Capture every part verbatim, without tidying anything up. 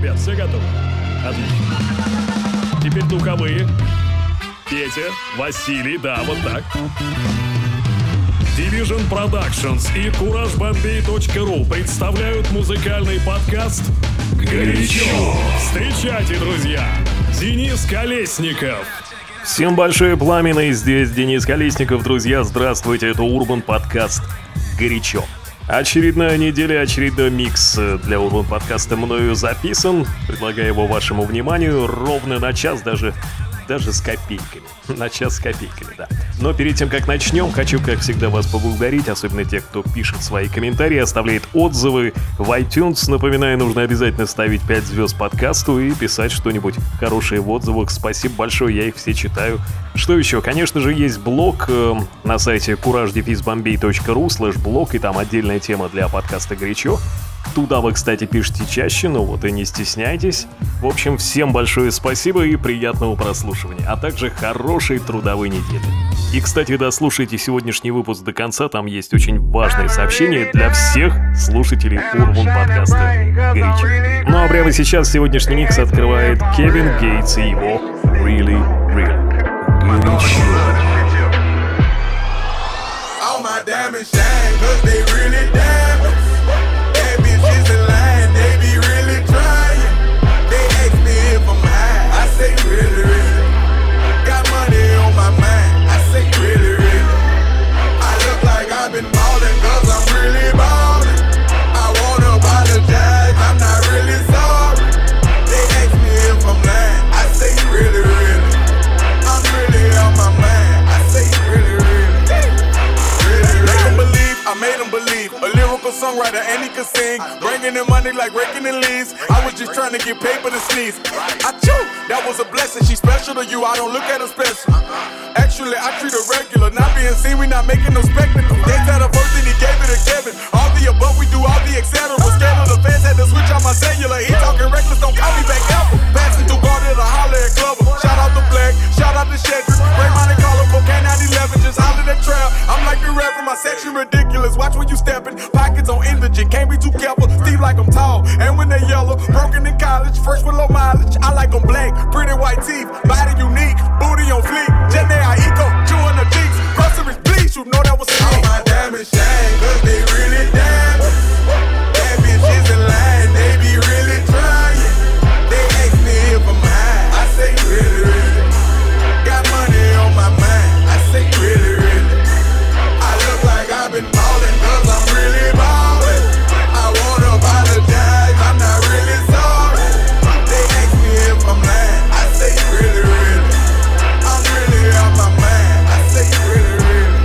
ребят, все готовы? Отлично. Теперь духовые. Петя, Василий, да, вот так. Division Productions и кураж бомбей точка ру представляют музыкальный подкаст «Горячо». Встречайте, друзья, Денис Колесников. Всем большое пламя, и здесь Денис Колесников, друзья, здравствуйте, это Urban подкаст «Горячо». Очередная неделя, очередной микс для Urban подкаста мною записан, предлагаю его вашему вниманию ровно на час, даже... Даже с копейками. На час с копейками, да. Но перед тем, как начнем, хочу, как всегда, вас поблагодарить, особенно тех, кто пишет свои комментарии, оставляет отзывы в iTunes. Напоминаю, нужно обязательно ставить пять звезд подкасту и писать что-нибудь хорошее в отзывах. Спасибо большое, я их все читаю. Что еще? Конечно же, есть блог э, на сайте кураж бомбей точка ру слэш блог, и там отдельная тема для подкаста «Горячо». Туда вы, кстати, пишите чаще, ну вот и не стесняйтесь. В общем, всем большое спасибо и приятного прослушивания, а также хорошей трудовой недели. И, кстати, дослушайте сегодняшний выпуск до конца, там есть очень важное сообщение для всех слушателей Urban подкаста «Горячо». Ну а прямо сейчас сегодняшний микс открывает Кевин Гейтс и его «Really Real». Горячо. Songwriter and he could sing, bringing in money like raking in leaves. I was just trying to get paper to sneeze. I chew, that was a blessing. She's special to you, I don't look at her special. Actually, I treat her regular. Not being seen, we not making no spectacle. They said her first and he gave it to Kevin. All the above, we do all the et cetera. Scared of the fans, had to switch on my cellular. He talking reckless, don't call me back ever. Passing through Garden to holler at Glover. Shout out to Black, shout out to Shedrick. Ray Monte Carlo, K nine eleven, just holler at Trail. I'm like the rapper, my section ridiculous. Watch when you stepping, pockets on indigent, can't be too careful. Steve like I'm tall, and when they yellow, broken in college, first with low mileage. I like them black, pretty white teeth, body unique, booty on fleek. Jenny I eco, chewing the cheeks, groceries please, you know that was me. All my diamonds shine, cause they really diamonds. Bad bitches in line, they be really trying. They ask me if I'm high, I say really, really. Got money on my mind, I say really, really. I look like I've been ballin' cause I'm really ballin'. I wanna apologize, I'm not really sorry. They ask me if I'm lying, I say really, really. I'm really out my mind, I say really, really.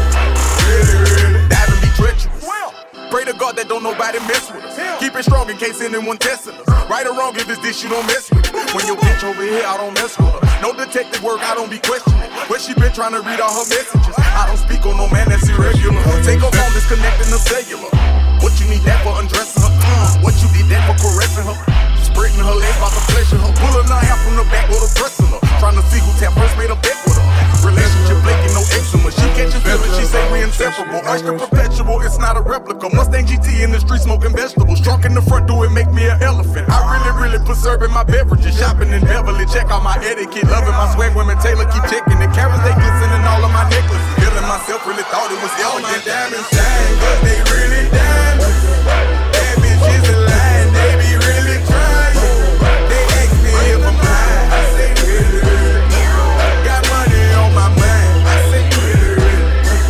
Really, really. That'll be treacherous. Pray to God that don't nobody mess with us. Keep it strong in case anyone testing us. Right or wrong, if it's this, you don't mess with it. When your bitch over here, I don't mess with her. No detective work, I don't be questioning. Where she been trying to read all her messages? I don't speak on no man that's irregular. Take her phone, disconnecting the cellular. What you need that for undressing her? Uh, what you did that for caressing her? Spreading her legs about to pleasure her. Pulling her hair from the back with a pressing her. Trying to see who tap first made a bet with her. Relationship blinking, no eczema. She catches feelings, she say we inseparable. Oyster perpetual, it's not a replica. Mustang G T in the street smoking vegetables. Drunk in the front, do it make me an elephant. I really, really preserving my beverages. Shopping in Beverly, check out my etiquette. Loving my swag, women Taylor keep checking the carrots, they glistening all of my necklaces. Feeling myself, really thought it was elegant. All my diamonds shine, but they really diamonds. Bad bitches in line, they be really trying. They ask me if I'm high, I say really, really. Got money on my mind, I say really, really.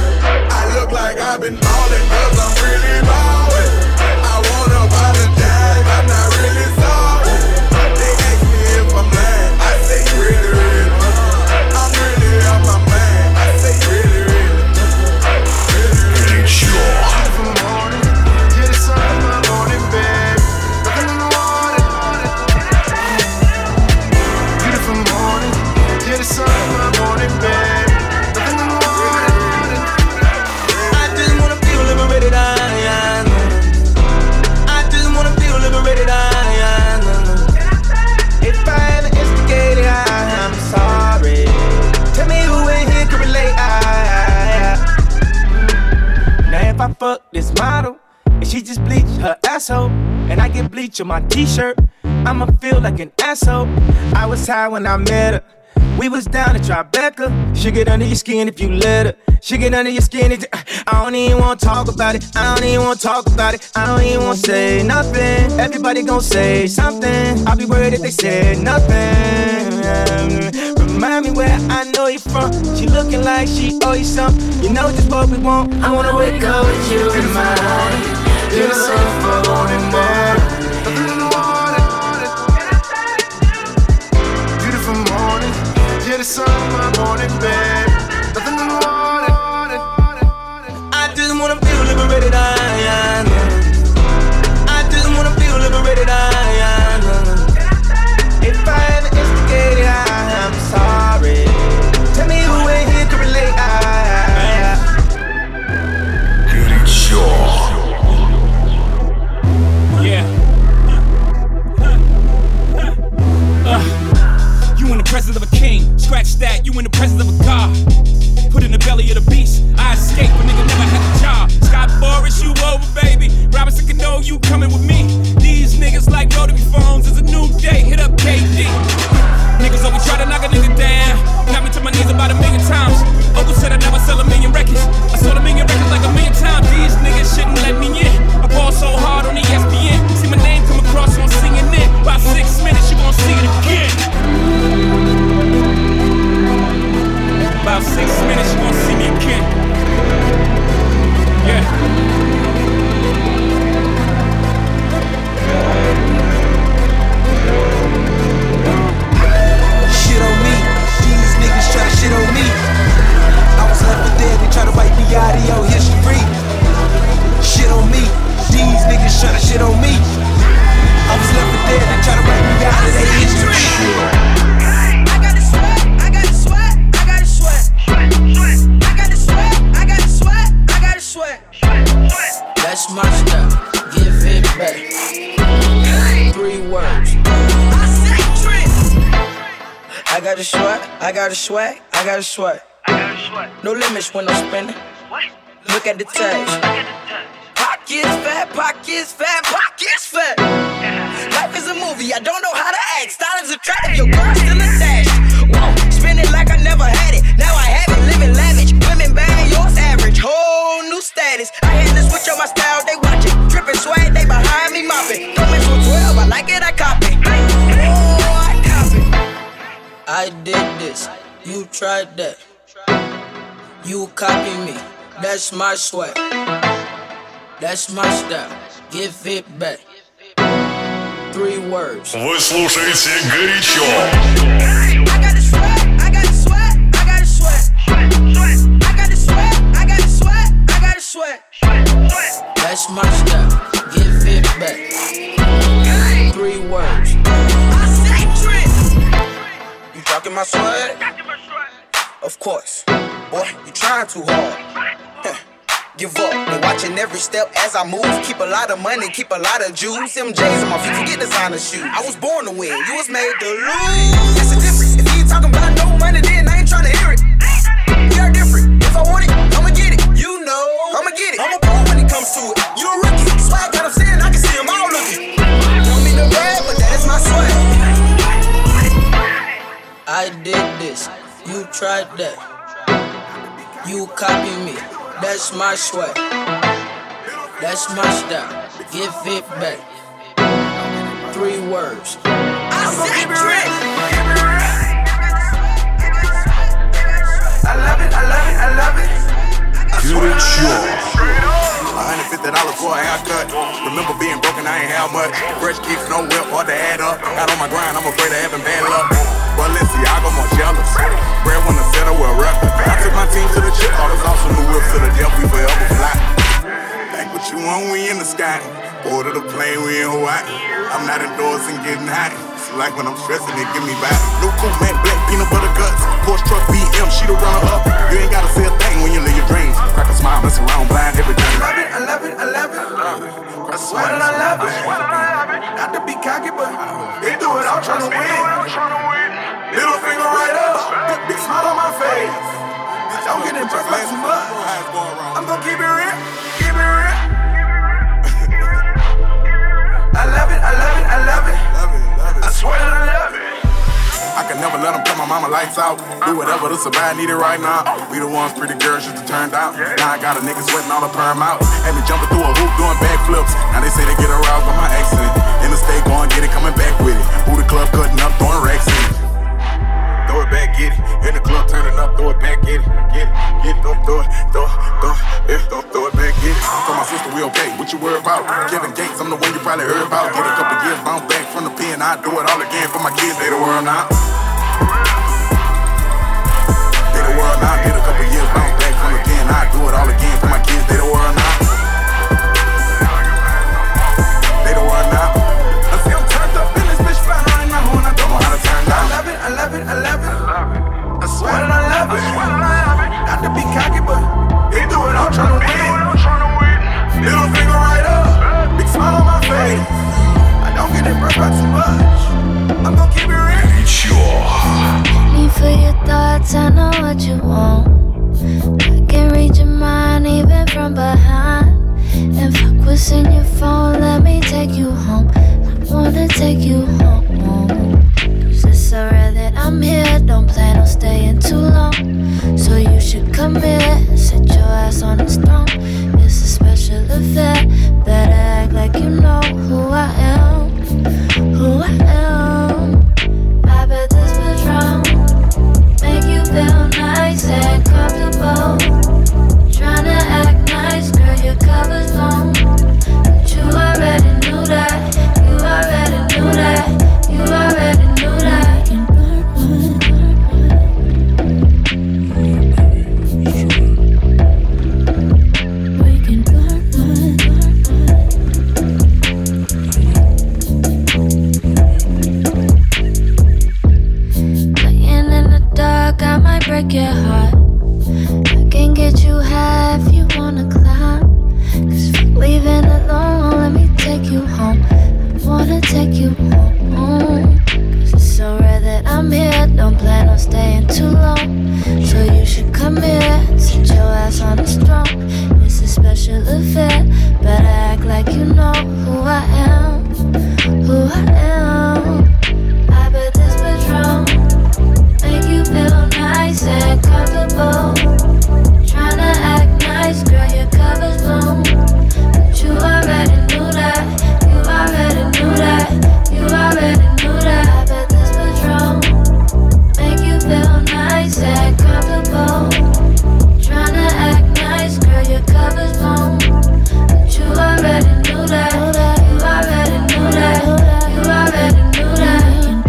I look like I've been ballin' cause I'm really ballin'. I wanna apologize, I'm not really sorry. They ask me if I'm lying, I say really, really. I'm really out my mind, I say really, really. Really, really. fuck this model, and she just bleach her asshole, and I get bleach on my t-shirt. I'ma feel like an asshole. I was high when I met her. We was down at Tribeca. She get under your skin if you let her. She get under your skin. If I don't even wanna talk about it. I don't even wanna talk about it. I don't even wanna say nothing. Everybody gon' say something. I'll be worried if they said nothing. Remind me where I know you from. She looking like she owe you something. You know just what we want. I wanna wake up with you in my morning. Beautiful morning, morning. Yeah, the sun in my morning bed. Nothing in the water. I just wanna feel liberated. I, I, I just wanna feel liberated. I, I, if I ever instigated, I, I'm sorry. Tell me who ain't here to relate. I, I, Горячо. Yeah. Uh. You in the presence of a king, scratch that, you in the presence of a god. Put in the belly of the beast, I escape, but nigga never had a job. Scott Boris, you over, baby. Robinson Cano, you coming with me. These niggas like rotary phones, it's a new day, hit up K D. Niggas always try to knock a nigga down, knock me to my knees about a million times. Uncle said I'd never sell a million records, I sold a million records like a million times. These niggas shouldn't let me in, I ball so hard on the E S P N. See my name come across on C N N, about six minutes you gon' see it again. About six minutes, you gon' see me again. Yeah. Shit on me, these niggas try to shit on me. I was left for dead, they try to wipe me out of your history. Shit on me, these niggas try to shit on me. I was left for dead, they try to wipe me out of their history. That's my style, give it back. Three words. I got a swag, I got a swag, I got a swag. No limits when I'm spending. Look at the tags. Pockets fat, pockets fat, pockets fat. Life is a movie, I don't know how to act. Style is attractive, your girl still attached. Whoa, spin it like I never had it. Now I have it, living lavish. Women bad, yours average. Whole new status. I had to switch up my style, they watch it. Trippin' swag, they behind me mopping. Coming from twelve, I like it, I copy. Oh, I copy. I did this, you tried that. You copy me, that's my swag. That's my style, give it back. Three words. Вы слушаете «Горячо». I got a swag, I got a swag, I got a swag. I got a swag, I got a swag, I got a swag. That's my style, give it back. Three words. You talking my swag? Of course. Boy, you trying too hard. Give up, they watching every step as I move. Keep a lot of money, keep a lot of juice. M J's on my feet, forget designer shoes. I was born to win, you was made to lose. That's the difference. If you ain't talking about no money, then I ain't trying to hear it. We are different. If I want it, I'ma get it. You know, I'ma get it. I'm a pro when it comes to it. You a rookie. Swag got them saying I can see them all looking. Don't mean no bad, but that is my swag. I did this, you tried that. You copy me. That's my swag. That's my style. Give it back. Three words. I said drink. I love it, I love it, I love it. Горячо. one hundred fifty dollars for a haircut. Remember being broken, I ain't have much. Fresh kicks, no whip, hard to add up. Out on my grind, I'm afraid of having bad luck. Balenciaga, more jealous. Bread when the center will rap. I took my team to the chip, all those awesome new whips to the death, we forever fly. Think what you want, we in the sky. Board of the plane, we in Hawaii. I'm not endorsing getting high. It's like when I'm stressing, it give me back. New cool man, black peanut butter guts. Porsche truck, B M, she the runner up. You ain't gotta say a thing when you live your dreams. Crack a smile, mess around, blind everything. I love it, I love it, I love it. I swear that I love it. Not to be cocky, but they do it all trying to win. Little finger right up, big smile on my face. Don't get impressed by too much. I'm gonna keep it real, keep it real. I love it, I love it, I love it. mama lights out. Do whatever to survive, need it right now. We the ones pretty girls used to turn out. Now I got a nigga sweating all the perm out. Had me jumping through a hoop doing backflips. Now they say they get aroused by my accent. In the state, going get it, coming back with it. Who the club cutting up, throwing racks in it. Throw it back, get it. In the club, turning up, throw it back, get it. Get it, get it, throw, throw it, throw, throw, yeah, throw, throw it back, get it. Tell my sister we okay, what you worry about? Kevin Gates, I'm the one you probably heard about. Get a couple years, bounce back from the pen. I do it all again for my kids, they the world now. They the world now. Get a couple years, bounce back from the pen. I do it all again for my kids, they the world now. They the world now. I see I'm turned up in this bitch flying right now, and I don't know how to turn down. I love it, I love it, I love it. I swear that I love it. Not to be cocky, but they do it all trying to win. Little finger right up, big smile on my face. I don't get it burnt by too much. I'm gon' keep it real. Me for your thoughts, I know what you want. I can read your mind even from behind. And fuck what's in your phone, let me take you home. I wanna take you home. Cause it's so rare that I'm here, don't plan on staying too long. So you should come here, sit your ass on this throne. It's a special event, better act like you know who I am. Who I am. I bet this Patron make you feel nice and comfortable. Tryna act nice, girl, your cover's blown. But you already knew that. You already knew that. You already knew that. Break your heart. I can get you high if you wanna climb. Cause fuck leaving alone, let me take you home. I wanna take you home. Cause it's so rare that I'm here, don't plan on staying too long. So you should come here, sit your ass on this throne. It's a special event, better act like you know who I am. Who I am. I bet this Patron make you feel nice and comfortable. Tryna act nice, girl, your cover's blown. But you already knew that. You already knew that. You already knew that. I bet this Patron make you feel nice and comfortable. Tryna act nice, girl, your cover's blown. But you already knew that. You already knew that. You already knew that.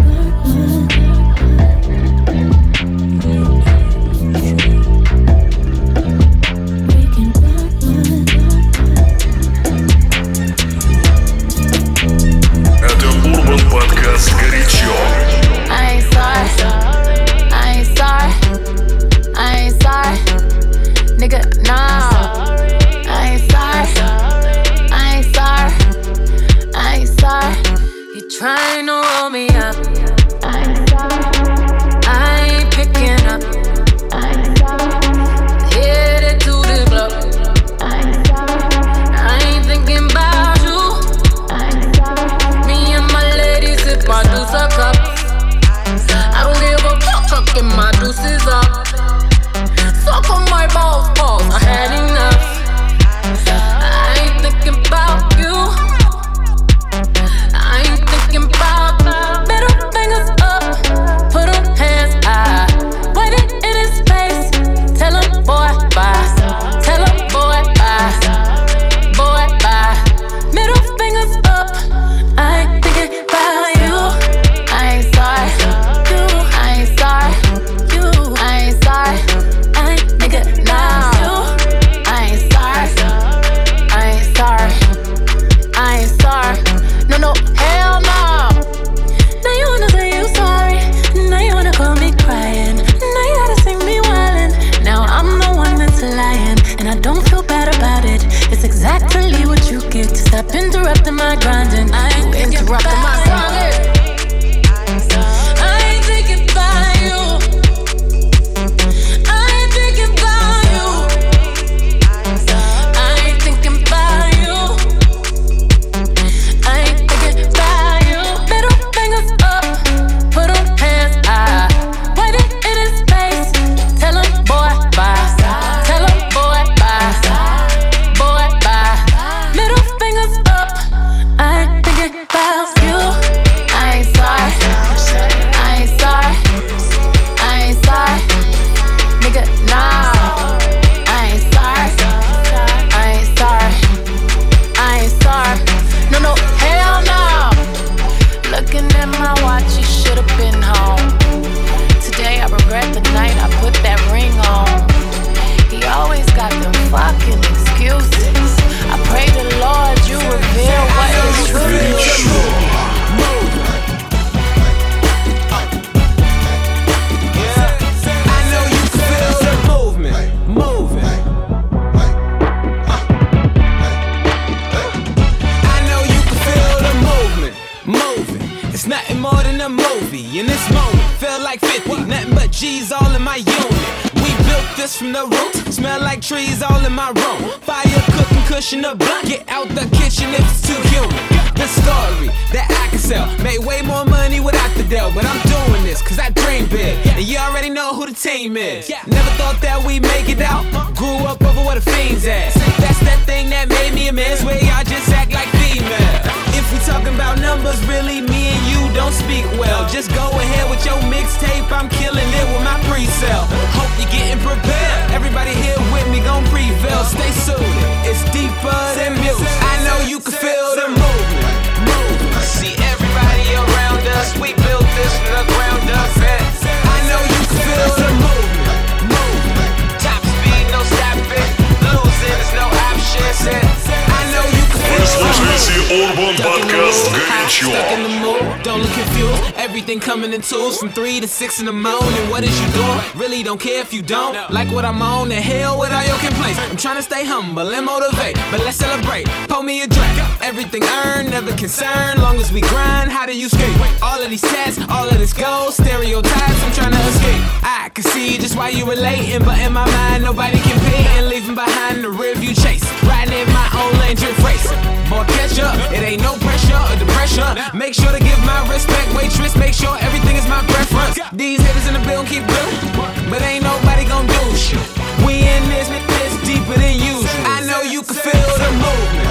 Подкаст «Горячо». I ain't sorry, I ain't sorry, I ain't sorry, nigga, nah. I ain't sorry, I ain't sorry, I ain't sorry. You trying to roll me up, I ain't sorry, I ain't picking up, I ain't sorry. Headed to the club, I ain't sorry, I ain't thinking about you, I ain't sorry. Me and my lady sip my deuce a cup. I don't give a fuck, fucking my deuces up. Suck on my balls, balls, I had enough. I ain't thinking about you. I ain't thinking about middle fingers It's nothing more than a movie. In this moment, feel like fifty. Nothing but G's all in my unit. We built this from the roots. Smell like trees all in my room. Fire cooking, cushion a blunt. Get out the kitchen if it's too humid. The story that I can sell. Made way more money without the deal. But I'm doing this cause I dream big. And you already know who the team is. Never thought that we'd make it out. Grew up over where the fiends at. That's that thing that made me a man's way. Y'all just act like female. If we talking about numbers, really me and you don't speak well. Just go ahead with your mixtape. I'm killing it with my pre-sale. Hope you're getting prepared. Everybody here with me gon' prevail. Stay suited. It's deeper than music. I know you can feel the movement. See everybody around us, we built this from the ground up. I know you can feel the movement, movement. Top speed, no stopping. Losing is no option. I know you can feel the Urban Podcast горячо. Stuck in the mood, don't look confused. Everything coming in twos from three to six in the morning. What is you doing? Really don't care if you don't like what I'm on. The hell with all your complaints. I'm trying to stay humble and motivate, but let's celebrate. Pour me a drink. Everything earned, never concerned. Long as we grind, how do you skate? All of these tests, all of this gold, stereotypes. I'm trying to escape. I can see just why you relating, but in my mind nobody can pay. And leaving behind the rearview chase. Riding in my own lane, drift race. Boy, catch up. It ain't no pressure or depression. Make sure to give my respect, waitress. Make sure everything is my preference. These haters in the building keep building, but ain't nobody gon' do shit. We in this, this deeper than usual. I know you can feel the movement.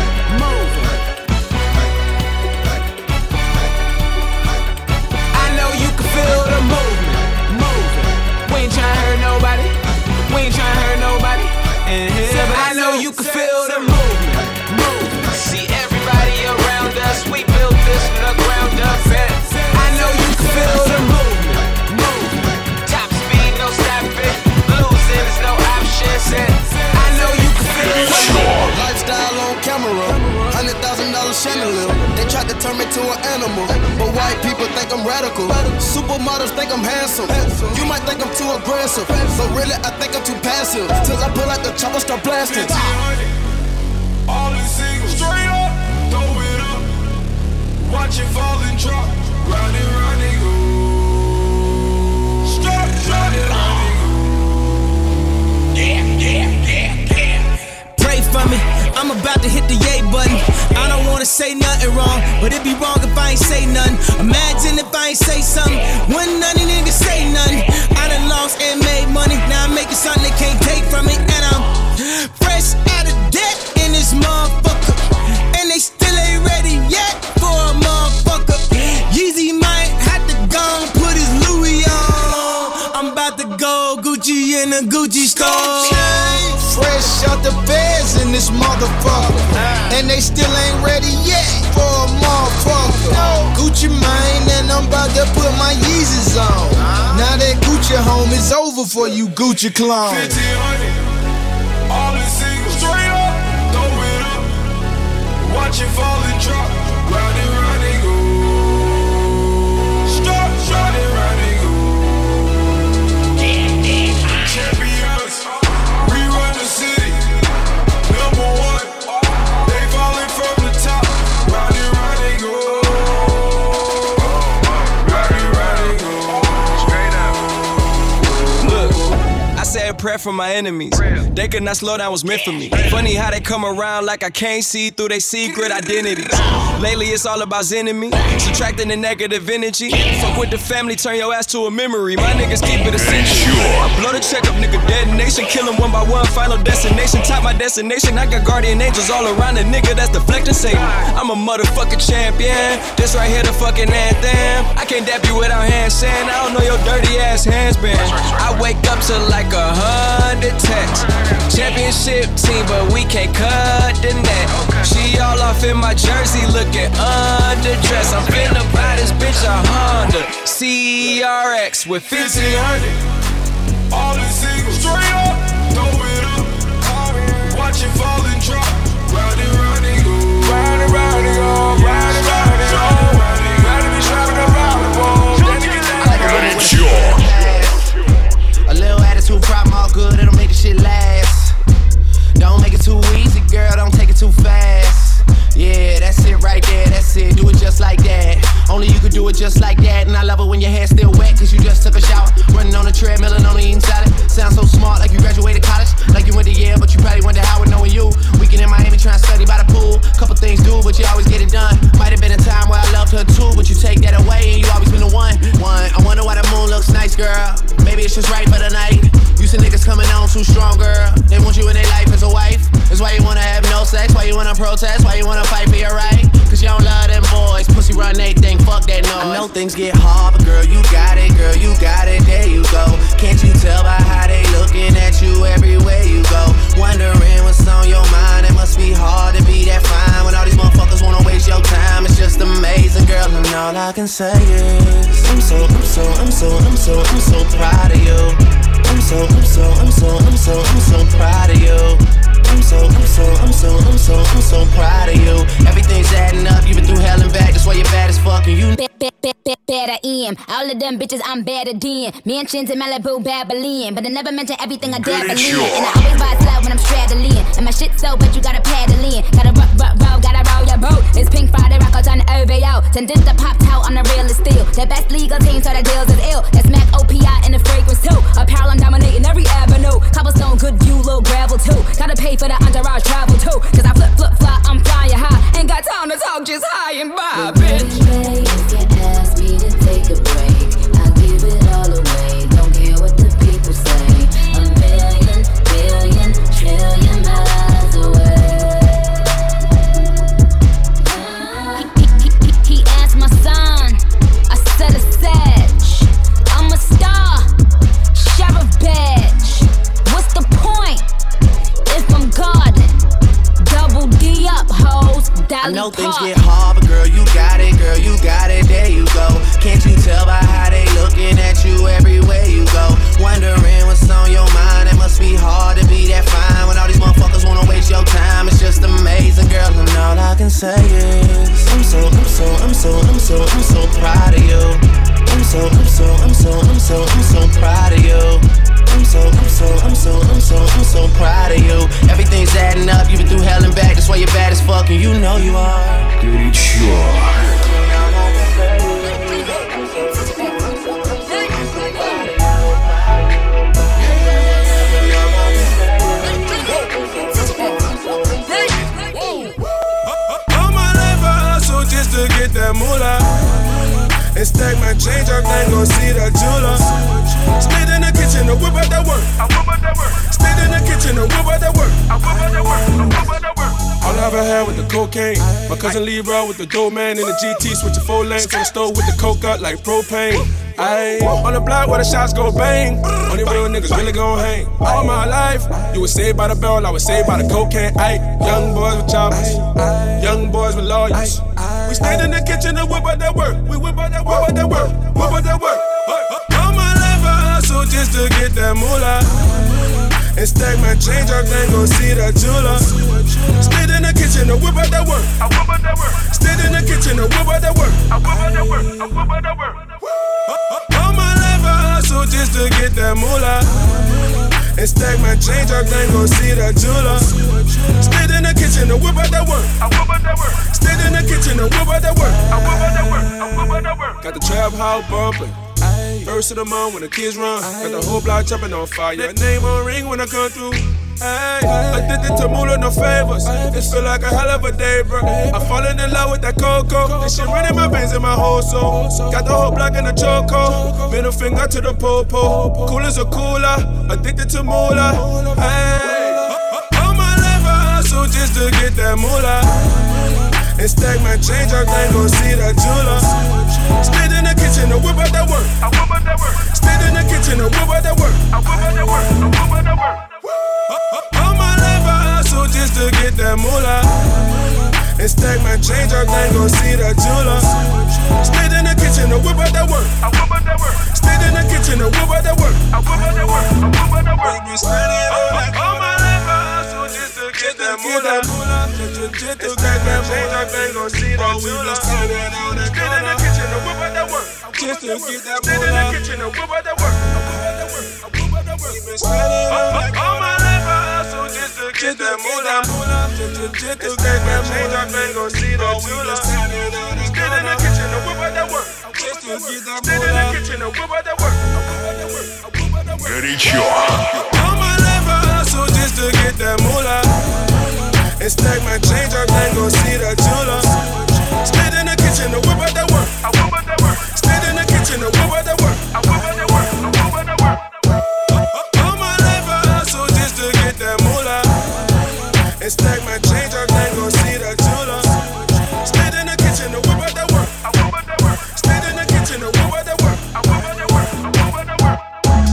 I know you can feel the movement. We ain't tryna hurt nobody. We ain't tryna hurt nobody. And I know you can feel the movement. See everybody around us, we built this from the ground up. I know you can feel the movement, movement. Top speed, no stopping. Losing is no option. I know you can feel the movement. Lifestyle on camera, hundred thousand dollar chandelier. They tried to turn me to an animal, but white people think I'm radical. Supermodels think I'm handsome. You might think I'm too aggressive, but really I think I'm too passive. Till I pull out the chopper, start blasting. All in single, straight up, throw it up. Watch it fall and drop. Round and round and go. Straight, round and round and go. Yeah, yeah, yeah, yeah. Pray for me, I'm about to hit the yay button. I don't wanna say nothing wrong, but it'd be wrong if I ain't say nothing. Imagine if I ain't say something, when none of niggas say nothing. I done lost and made money, now I'm making something they can't take from me. And I'm fresh out of debt in this motherfucker, and they still ain't ready yet for a motherfucker. Yeezy might have to go and put his Louis on. I'm about to go Gucci in a Gucci store. Fresh out the beds in this motherfucker, and they still ain't ready yet for a motherfucker. Gucci mane, and I'm about to put my Yeezys on. Now that Gucci home is over for you Gucci clones. fifteen hundred, all in single, straight up, throw it up. Watch it fall and drop, round and round and go. Stop, round and round and go. Champions, we run the city, number one. They falling from the top, round and round and go. Round and round and go. Straight up. Look, I said a prayer for my enemies. They could not slow down, was meant for me. Funny how they come around like I can't see through their secret identities. Lately it's all about enemy, subtracting the negative energy. Fuck with the family, turn your ass to a memory. My niggas keep it essential. I blow the check up, nigga, detonation. Kill them one by one, final destination. Top my destination, I got guardian angels all around the nigga that's deflecting Satan. I'm a motherfucking champion, this right here the fucking anthem. I can't dap you without hand saying I don't know your dirty ass hands been. I wake up to like a hundred texts. Championship team, but we can't cut the net. She all off in my jersey, looking underdressed. I'm finna buy this bitch a Honda C R X with fifteen hundred. All in single, straight up, throw it up. Watch it fall and drop, round and round and go. Round and round and go, round and round and go. Round and round and go. A little attitude problem, all good, it'll make the shit last. Don't make it too easy, girl, don't take it too fast. Yeah, that's it right there, that's it, do it just like that. Only you can do it just like that. And I love it when your hair's still wet, cause you just took a shower. Running on the treadmill and only eating salad. Sound so smart, like you graduated college. Like you went to Yale, but you probably went to Howard knowing you. Weekend in Miami trying to study by the pool. Couple things do, but you always get it done. Might have been a time where I loved her too, but you take that away and you always been the one. One, I wonder why the moon looks nice, girl. Maybe it's just right for the night. You see niggas coming on too strong, girl. They want you in their life as a wife. That's why you wanna have no sex, why you wanna protest, why you wanna fight for your right. Cause you don't love them boys, pussy run they think, fuck that noise. I know things get hard, but girl, you got it, girl, you got it, there you go. Can't you tell by how they looking at you everywhere you go? Wondering what's on your mind, it must be hard to be that fine when all these motherfuckers wanna waste your time. It's just amazing, girl, and all I can say is I'm so, I'm so, I'm so, I'm so, I'm so proud of you. I'm so, I'm so, I'm so, I'm so, I'm so proud of you. I'm so, I'm so, I'm so, I'm so, I'm so proud of you. Everything's adding up, you've been through hell and back, that's why you're bad as fuck and you better in. All of them bitches I'm better than. Mansions in Malibu, Babylon. But I never mention everything I dabble in. And I always buy slow when I'm straddling. And my shit so but you gotta paddle in. Gotta rock, rock, roll, gotta roll your boat. It's Pink Friday, rock out on the O V O. Send this the pop out on the real steel. The best legal team, so the deals is ill. That's Mac O P I and the fragrance too. Apparel I'm dominating every avenue. Cobblestone, good view, little gravel too. Gotta pay for the entourage travel too. Cause I flip, flip, fly, I'm flying high. Ain't got time to talk, just high and by, bitch. Ask me to take a break, I'll give it all away. Don't care what the people say. A million, billion, trillion miles away. He, he, he, he asked my son, I said a sedge. I'm a star, sheriff badge. What's the point if I'm guarding? Double D up, hoes. I know things get hard, but girl, you got it, girl, you got it, there you go. Can't you tell by how they looking at you everywhere you go? Wondering what's on your mind, it must be hard to be that fine when all these motherfuckers wanna waste your time. It's just amazing, girl, and all I can say is I'm so, I'm so, I'm so, I'm so, I'm so proud of you. I'm so, I'm so, I'm so, I'm so, I'm so proud of you. I'm so, I'm so, I'm so, I'm so, I'm so proud of you. Everything's adding up, you've been through hell and back, that's why you're bad as fuck and you know you are. Горячо. All my life I hustle just to get that moolah. And stack my change up, then go see that jeweler. Stayed in the kitchen to whip out that work. I whip out that work. Stayed in the kitchen to whip out that work. I whip out that work. I whip out that work. All I ever had with the cocaine. My cousin Leroy with the dope man in the G T, switching four lanes to the stove with the coke up like propane. Ayy, on the block where the shots go bang. Only real niggas really gon' hang. All my life, you was saved by the bell, I was saved by the cocaine. Ayy, young boys with choppers, young boys with lawyers. We stayed in the kitchen and whip out that work. We whip out that work, whip out that work, whip out that work. All my life I hustle just to get that moolah. And stack my change up, then go see that jeweler. Stayed in the kitchen and whip out that work. I whip out that work. Stayed in the kitchen and whip out that work. I whip out that work. I whip out that work. All my life I hustle just to get that moolah. And stack my change up, then go see that jeweler. Stayed in the kitchen and whip out that work. I whip out that work. Stayed in the kitchen and whip out that work. I whip out that work. I whip out that work. Got the trap house bumping. First of the month when the kids run. Got the whole block jumping on fire. Name on ring when I come through. Ay, addicted to moolah, no favors. It feel like a hell of a day, bro. I'm falling in love with that cocoa. This shit running my veins in my whole soul. Got the whole block in the choco. Middle finger to the popo. Cool as a cooler. Addicted to moolah. Ay, all my life I hustle just to get that moolah. And stack my change up, then go see that jeweler. Stayed in the kitchen and whip out that work. I whip out that work. Stayed in the kitchen and whip out that work. I whip out that work. I whip out that work. All my life I hustle just to get that moolah. And stack my change up, then go see that jeweler. Stayed in the kitchen and whip out that work. I whip out that work. Stayed in the kitchen and whip out that work. I whip out that work. I whip out that work. All my life I hustle just to get that moolah. Just to get that change up, then go see that jeweler. Stayed in the kitchen and whip out that work. Just to get that moolah. Stayed in the kitchen and whip out that work. I whip out that work. I whip out that work. All my life I hustle just to get that moolah. Just to get that change up, then go see that jeweler. Stayed in the kitchen and whip out that work. Горячо. And stack my change up, then go see the jeweler. Stayed in the kitchen to whip out that work. I whip out that work. Stayed in the kitchen to whip out that work. I whip out that work. I whip out that work. All my life I hustle just to get that moolah. And stack my change up, then go see the jeweler. Stayed in the kitchen to whip out that work. I whip out that work. Stayed in the kitchen to whip out that work. I whip out that work. I whip out that work.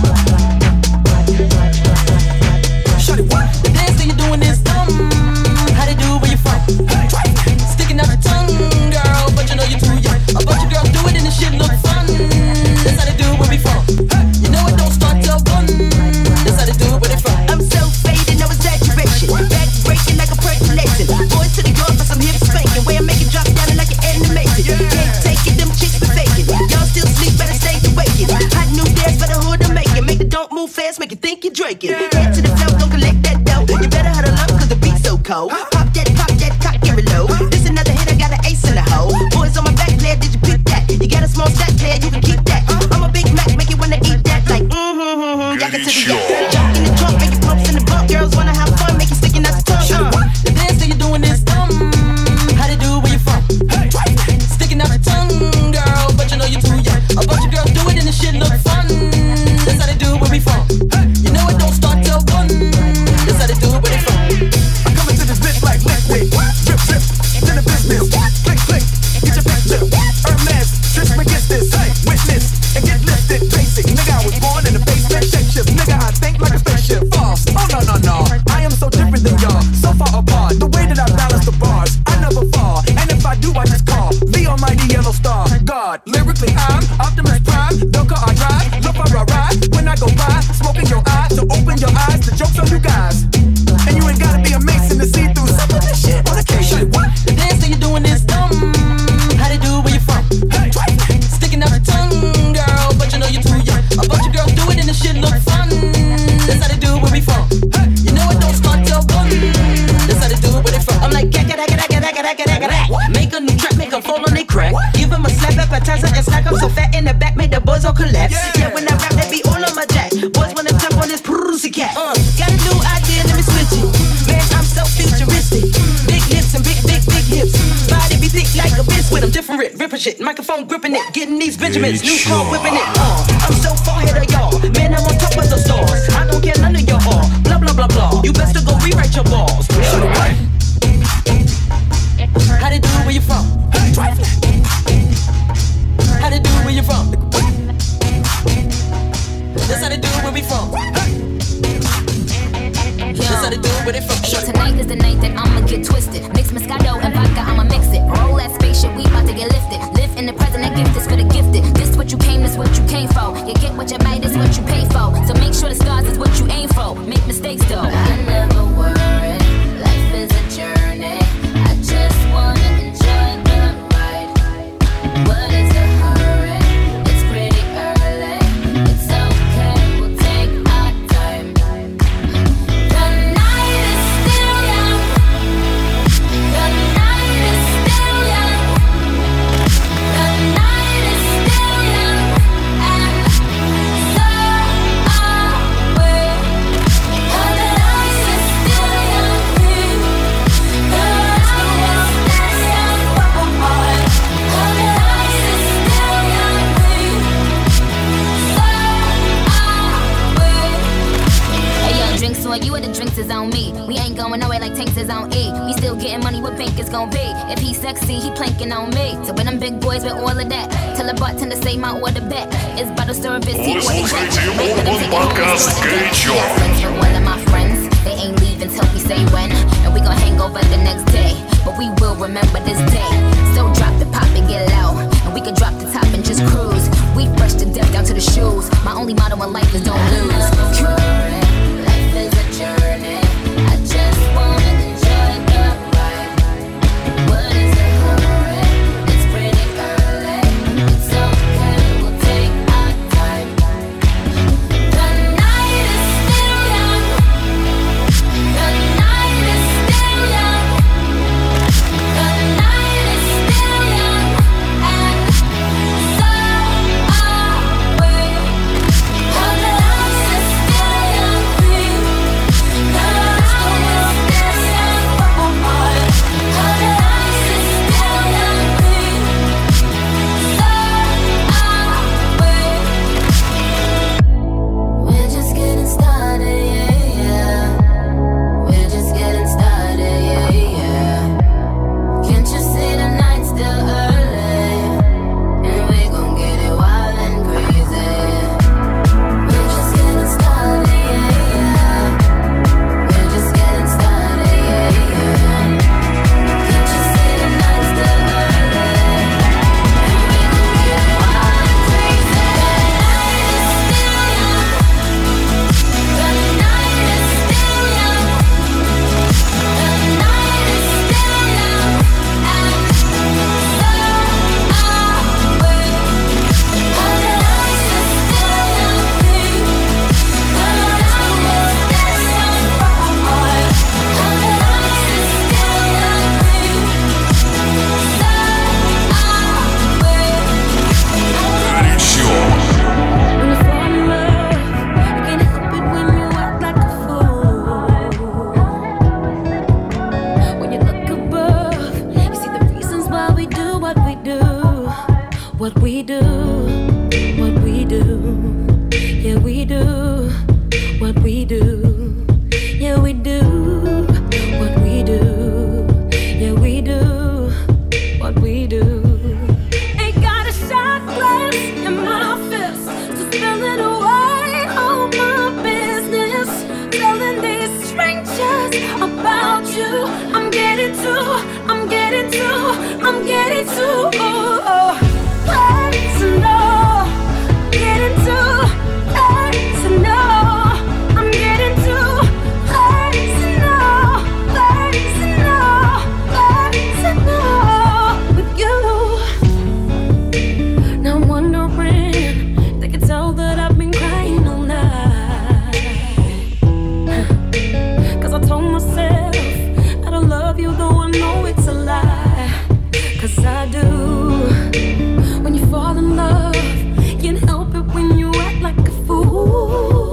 Shorty, what? The dance that you're doing is dumb. How they do where you from? Sticking out your tongue, girl, but you know you're too young. A bunch of girls do it and the shit look fun. That's how they do where we from. You know it don't start till one. That's how they do where they from. I'm so faded, no exaggeration. Back breaking like a percolation. Boys to the yard for some hip spanking. Way I make it drop down like an animation. Can't take it, them chicks be faking. Y'all still sleep, better stay awakened. Hot new dance for the hood to make it. Make it don't move fast, make it think you're drinking. Head to the flow, don't collect that dough. You better huddle up cause the beat's so cold. Pop that, pop that, cock and reload. This another hit, I got an ace in the hole. Boys on my back, player, did you pick that? You got a small stack, player, you can keep that. I'm a Big Mac, make you wanna eat that. Like, mm-hmm, jack it to the yak. Jump in the trunk, make it pumps in the bump. Girls wanna have fun, make you sticking out the tongue. Uh. The dance that you're doing is dumb. How they do where you from? Sticking out your tongue, girl, but you know you're too young. A bunch of girls do it and the shit look fun. That's how they do where we from. You know it don't start till one. That's how they do where they from. I'm coming to this bitch like liquid. Drip, drip, to the business. Click, click, get your picture. Hermes, Trish against this. Witness, and get lifted. Basic, nigga, I was born in the basement. Shake shift, nigga, I think like a spaceship. False, oh no, no, no. I am so different than y'all. So far apart, the way that I balance the bars. I never fall, and if I do, I just call the almighty yellow star. God, lyrically, I'm Optimus Prime. Don't call I drive, look for a ride. When I go by, smoking your eye. So open your eyes, the joke's on you guys. And you ain't gotta be a Mason to see through some of this shit on occasion. What? The dance that you're doing is dumb. How they do where you from? Sticking out your tongue, girl, but you know you're too young. A bunch of girls do it and the shit look fun. That's how they do where we from. You know it don't start till one. That's how they do it where they from. I'm like, gagga, gagga, gagga, gagga, gagga, gagga, gagga. Make a new track, make them fall on they crack. Give them a slap appetizer and snack up so fat in the back, make the boys all collapse. Yeah, when I rap, they be all on my jack. Boys wanna jump on this pussy cat. Uh, got a new idea, let me switch it. Man, I'm so futuristic. Big lips and big, big, big hips. Body be thick like a biscuit. I'm different, ripping shit. Microphone gripping it, getting these Benjamins. New car whipping it. Uh, I'm so far ahead of y'all. Man, I'm on top of the stars. I don't care none of your all. Blah, blah, blah, blah. You best to go rewrite your balls. How they do where you from? How they do where you from? That's how they do where we from. That's how they do where they from. Yo, tonight is the night that I'ma get twisted. Mix Moscato and vodka, I'ma mix it. Roll that spaceship, we about to get lifted. Live in the present, that gift is for the gifted. This what you came, this what you came for. You get what you made, this what you pay for. So make sure the stars is what you aim for. Make mistakes though. I never worry, life is a journey. I just wanna enjoy the ride. What is the hurry? It's pretty early. It's okay, we'll take our time. The night is still young. The night is still young. The night is still young. And so are we. The night is still young. The rest of us that's young. The night is still young. So are we. Hey yo, drinks on you or the drinks is on me. We ain't going nowhere like tanks is on E. We still getting money, what bank is gon' be? If he sexy, he planking on me. So when them big boys with all of that, tell the bartender say my order back. It's bottle service, he order check. Урбан подкаст горячо. One of my friends, they ain't leaving till we say when. And we gon' hang over the next day. But we will remember this day. So drop the pop and get low. And we can drop the top and just cruise. We fresh to death down to the shoes. My only motto in life is don't lose. Life is a journey. I just wanna enjoy the ride. What is the hurry? It's pretty early. It's okay, we'll take our time. The night is still young. The night is still young. The night is still young. And so what we do. Yeah, we do what we do. Yeah, we do what we do. Yeah, we do what we do. Ain't got a shot glass in my fist to spill it away on my business. Telling these strangers about you. I'm getting to, I'm getting to, I'm getting to. Oh, oh. Personal, getting to, personal. I'm getting to, personal, personal, personal with you. Now I'm wondering, they can tell that I've been crying all night. Cause I told myself that I love you, though I know it's a lie. Cause I do. When you fall in love, can't help it when you act like a fool.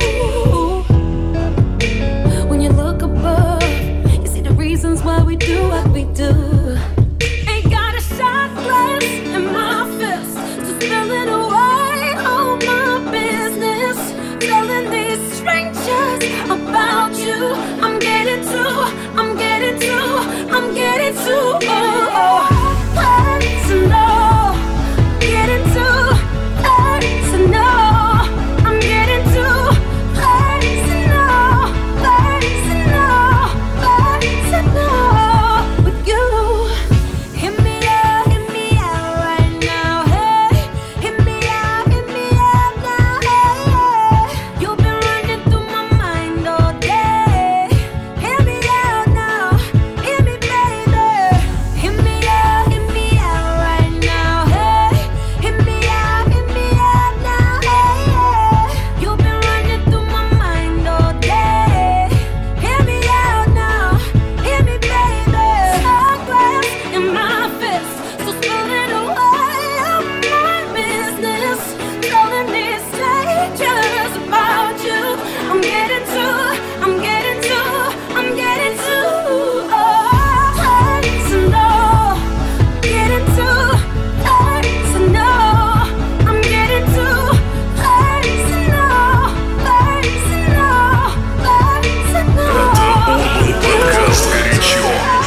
When you look above, you see the reasons why we do what we do. Ain't got a shot glass in my fist to spill it away on my business. Telling these strangers about you. I'm getting to, I'm getting to, I'm getting to. Oh, oh. Personal, getting to, personal. I'm getting to, personal, personal, personal with you. Hit me out, hit me out right now, hey. Hit me out, hit me out now, hey. You've been running through my mind all day. Hit me out now, hit me, baby. Hit me out, hit me out right now, hey. Hit me out, hit me out now, hey. You've been running through my mind all day. Hit me out now, hit me, baby. Shot glass in my fist, so spill it away on my business. Telling these strangers about you. I'm getting to, I'm getting to, I'm getting to. Oh, personal, getting to, personal. I'm getting to, personal, personal, personal. Подкаст «Горячо».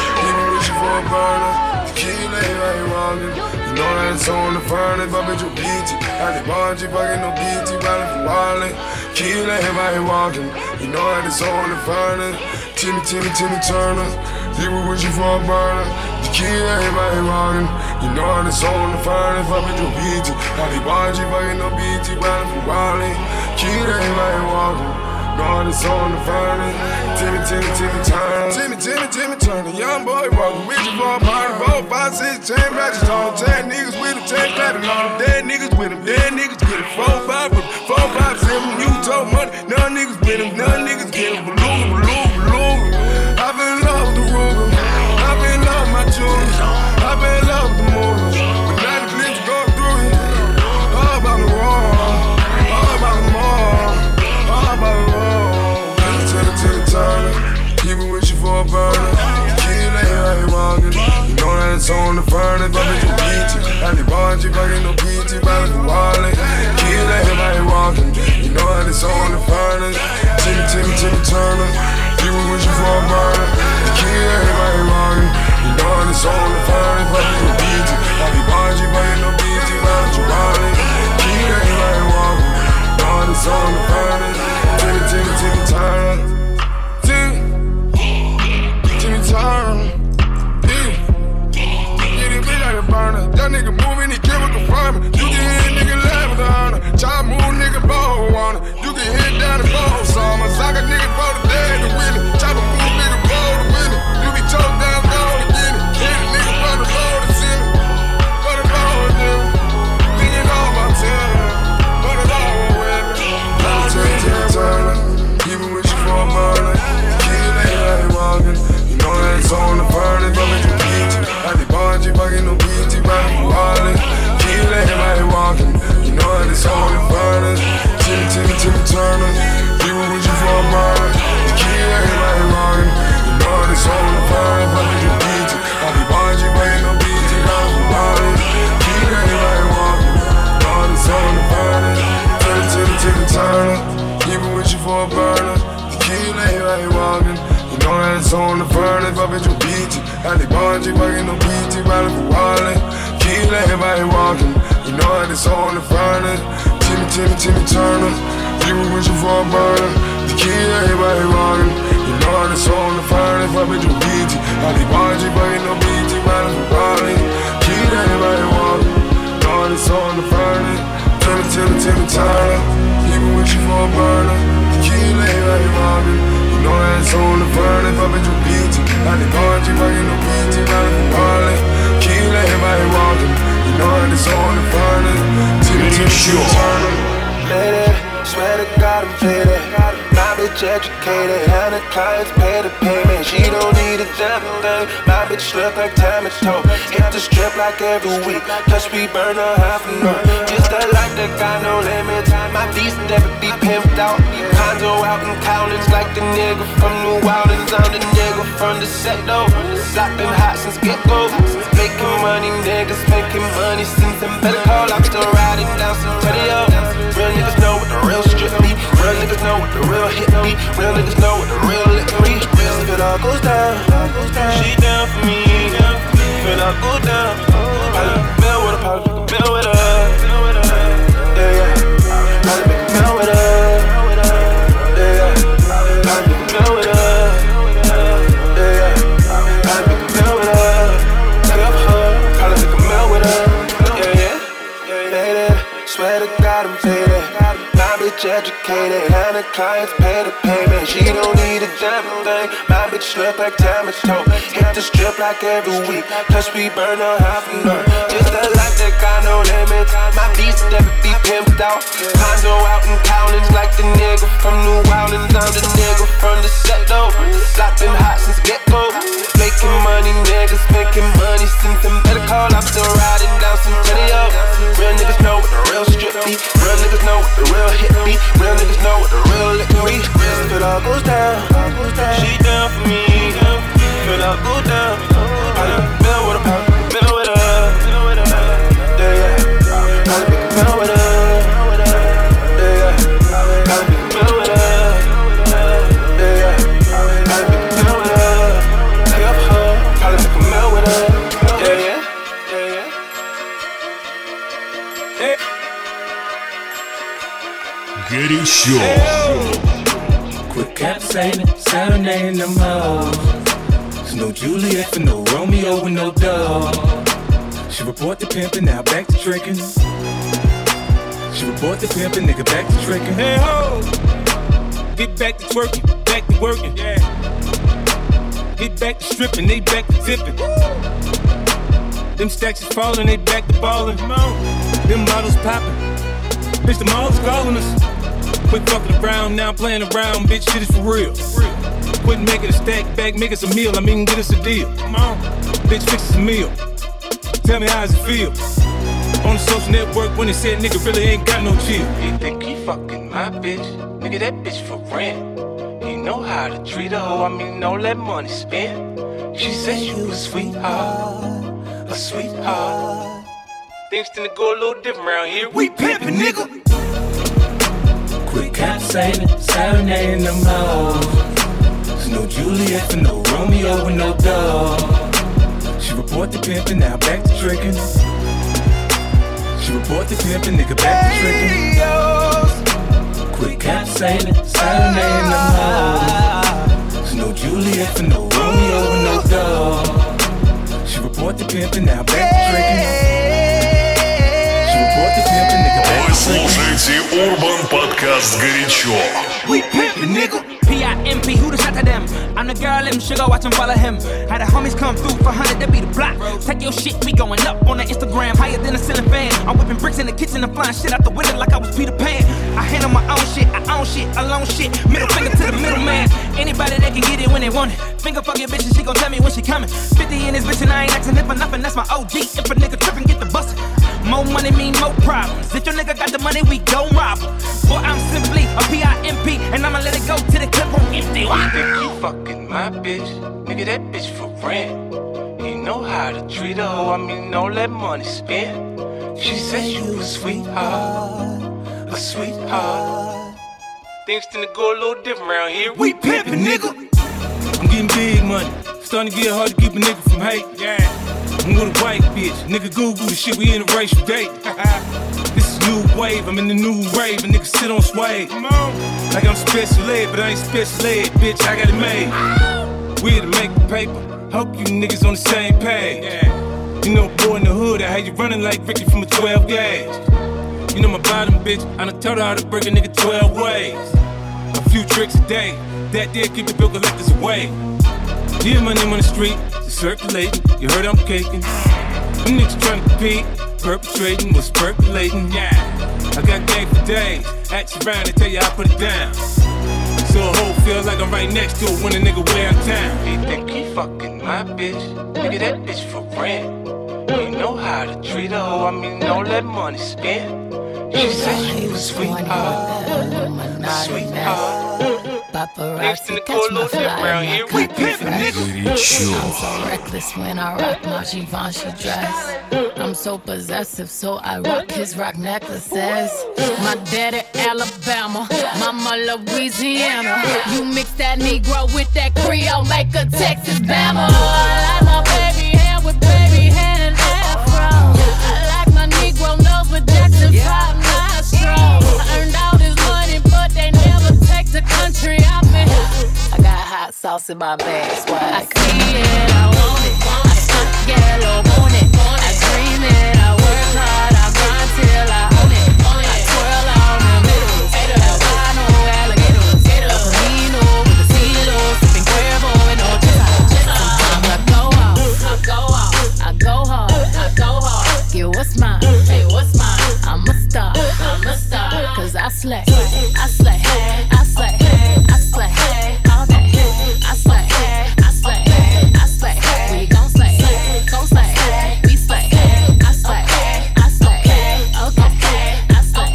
You know that it's on the furnace, but bitch, you beat it. I did bungee, fucking no B T, riding for wildin'. Kill everybody walking. You know that it's on the furnace. Timmy, Timmy, Timmy Turner. He was wishing for a burner. To kill everybody walking. You know that it's on the furnace, but bitch, you beat it. I did bungee, fucking no B T, riding for wildin'. Kill everybody walking. God is on the furnace. Timmy, Timmy, Timmy Turner. Timmy, Timmy, Timmy Turner. Young boy walking with you for a party. Four, five, six, chain matches on. Ten niggas with him, ten clapping on him. Dead niggas with him, dead niggas get it. Four, five with him, four, five, seven. You talk money. None niggas with him, none niggas get him. Beluga, beluga, beluga. I been in love with the Ruger. I been in love with my jewelry. I been in love with the movies. But now the clips go through it. All about the wall. All about the mall. All about the wall. Timmy, Timmy Turner. People wishing for a burner. Kill everybody walking. You know that it's on the furnace, but bitch, you beat you. I did bungee, fucking no P T, riding for wildin'. Kill furnace. Timmy, Timmy, Timmy Turner. You were wishing for a burner. The kid, everybody running. You know how it's on the furnace. Fuck with your B T. I be watching, but ain't no B T. Riding for running. Kid, everybody wanting. Know how it's on the furnace. Timmy, Timmy, Timmy Turner. You were wishing for a burner. The kid, everybody running. You know how it's on the furnace. Fuck with your B T. I be watching, but ain't no B T. Riding for running. Kid, everybody wanting. You know how it's on the furnace. Timmy, Timmy, Timmy Turner. Lady, swear to God I'm faded. My bitch educated, and the clients pay the payment. She don't need a damn thing. My bitch look like time is told. Hit the strip like every week, plus we burn a half an hour. Just a life that got no limits. My beast never be pimped out. Condo out in Cowlins like the nigga from New Orleans. I'm the nigga from the set though. Locked been hot since get-go. Making money, niggas making money since them better call. I'm still riding down some radio. Real niggas know what the real strip be. Real niggas know what the real hit be. Real niggas know what the real lick be. If it all goes down, she down for me. If it all go down, probably make a bill with her, probably make a bill with her. Yeah, yeah. Probably make a bill with her. Yeah, yeah. Probably make a bill with her. Yeah, yeah. Probably make a bill with her. Take up her, probably make a bill with her. Yeah, yeah. Lady, swear to God I'm faded. My bitch educated, and the clients pay the payment. She don't need a damn thing. My bitch look like time is told. Hit the strip like every week, plus we burn a half an hour. Just a life that got no limits. My beast never be pimped out. Condo out in Cowlins like the nigga from New Orleans. I'm the nigga from the set though. Locked been hot since get-go. Making money, niggas making money since them better call. I'm still riding down some Centennial. Real niggas know what the real strip be. Real niggas know what the real hit be. Real niggas know what the real lick be. If it all goes down, she down for me. If it all go down, probably make a bill with her, probably make a bill with her. Yeah, yeah. Probably make a bill with her. Yeah, yeah. Probably make a bill with her. Yeah, yeah. Probably make a bill with her. Take up her, probably make a bill with her. Yeah, yeah. Yeah, yeah. Hey. Горячо. Quit capsizing, serenading them hoes. There's no Juliet for no Romeo with no dog. She report the pimpin', now back to trickin'. She report the pimpin', nigga back to trickin'. Hey ho! Get back to twerking, back to working. Yeah. Get back to stripping, they back to tipping. Them stacks is falling, they back to ballin'. Them bottles poppin'. Bitch, the mall's calling us. Quit fucking around, now I'm playing around, bitch, shit is for real. Quit making a stack back, make us a meal, I mean, get us a deal. Come on, bitch, fix us a meal. Tell me how does it feel? On the social network when they said nigga really ain't got no chill. He think he fucking my bitch, nigga, that bitch for rent. He know how to treat a hoe, I mean, don't let money spend. She said you a sweetheart, a sweetheart. Things tend to go a little different around here. We pimpin', nigga. Quit capsizing, serenading them hoes. There's no Juliet for no Romeo with no dog. She report the pimpin', now back to trickin'. She report the pimpin', nigga back to trickin'. Quit capsizing, serenading them hoes. There's no Juliet for no Romeo with no dog. She report the pimpin', now back to trickin'. Вы слушаете Urban Podcast «Горячо». We pimpin', nigga. P I M P, who the shot to them? I'm the girl, them sugar, watch them follow him. Had the homies come through for one hundred, they be the block. Take your shit, we going up on the Instagram, higher than a ceiling fan. I'm whipping bricks in the kitchen and flying shit out the window like I was Peter Pan. I handle my own shit, I own shit, alone shit. Middle finger to the middleman. Anybody that can get it when they want it. Finger fuck your bitch and she gon' tell me when she coming. fifty in this bitch and I ain't asking it for nothing, that's my O G. If a nigga trippin', get the bustin'. More money mean more problems. If your nigga got the money, we gon' rob him. Boy, I'm simply a P I M P, and I'ma let it go to the clip on empty. You think you fucking my bitch? Nigga, that bitch for rent. He know how to treat a hoe, I mean, don't let money spend. She said you a sweetheart, a sweetheart. Things tend to go a little different around here. We pimpin', nigga. I'm getting big money. Starting to get hard to keep a nigga from hate. Yeah. I'm with a white bitch. Nigga Google the shit, we in a racial date. This is new wave, I'm in the new rave, and niggas sit on sway. Like I'm special ed, but I ain't special ed, bitch, I got it made. We here to make the paper, hope you niggas on the same page. You know, boy in the hood, I had you running like Ricky from a twelve gauge. You know my bottom, bitch, I done told her how to break a nigga twelve ways. A few tricks a day, that did keep the bill collectors away. Yeah, my name on the street, it's circulating, you heard I'm caking. Them niggas trying to compete, perpetrating what's percolating, yeah. I got game for days, ask you around and tell you I put it down. So a hoe feels like I'm right next to it when a nigga way out town. He think he fucking my bitch, nigga that bitch for rent. You know how to treat a hoe, I mean don't let money spend. She said she was a sweetheart, a sweetheart. Paparazzi catch my fly and I cut the fresh. I'm so reckless when I rock my Givenchy dress. I'm so possessive, so I rock his rock necklaces. My daddy Alabama, mama Louisiana. You mix that Negro with that Creole, make a Texas Bama. I like my baby hair with baby hair and afro. I like my Negro nose with Jackson five nostrils. I earned all this money, but they never take the country out me. I got hot sauce in my bag, swag. I see it, I want it. I stuck yellow, want it. I dream it, I work hard, I grind till I own it. I twirl on the middle, albino, alligators, El Camino with the CeeLo, sipping Cuervo and no chisa. Sometimes I go out, I go out, I go hard, I go hard. Yeah, what's mine? Hey, what's mine? I'm a star, I'm a star, cause I slay, I slay, I slay, I slay, all day. I slay, I slay, I slay, we gon' slay, gon' slay, we slay, I slay, I slay, okay, I slay,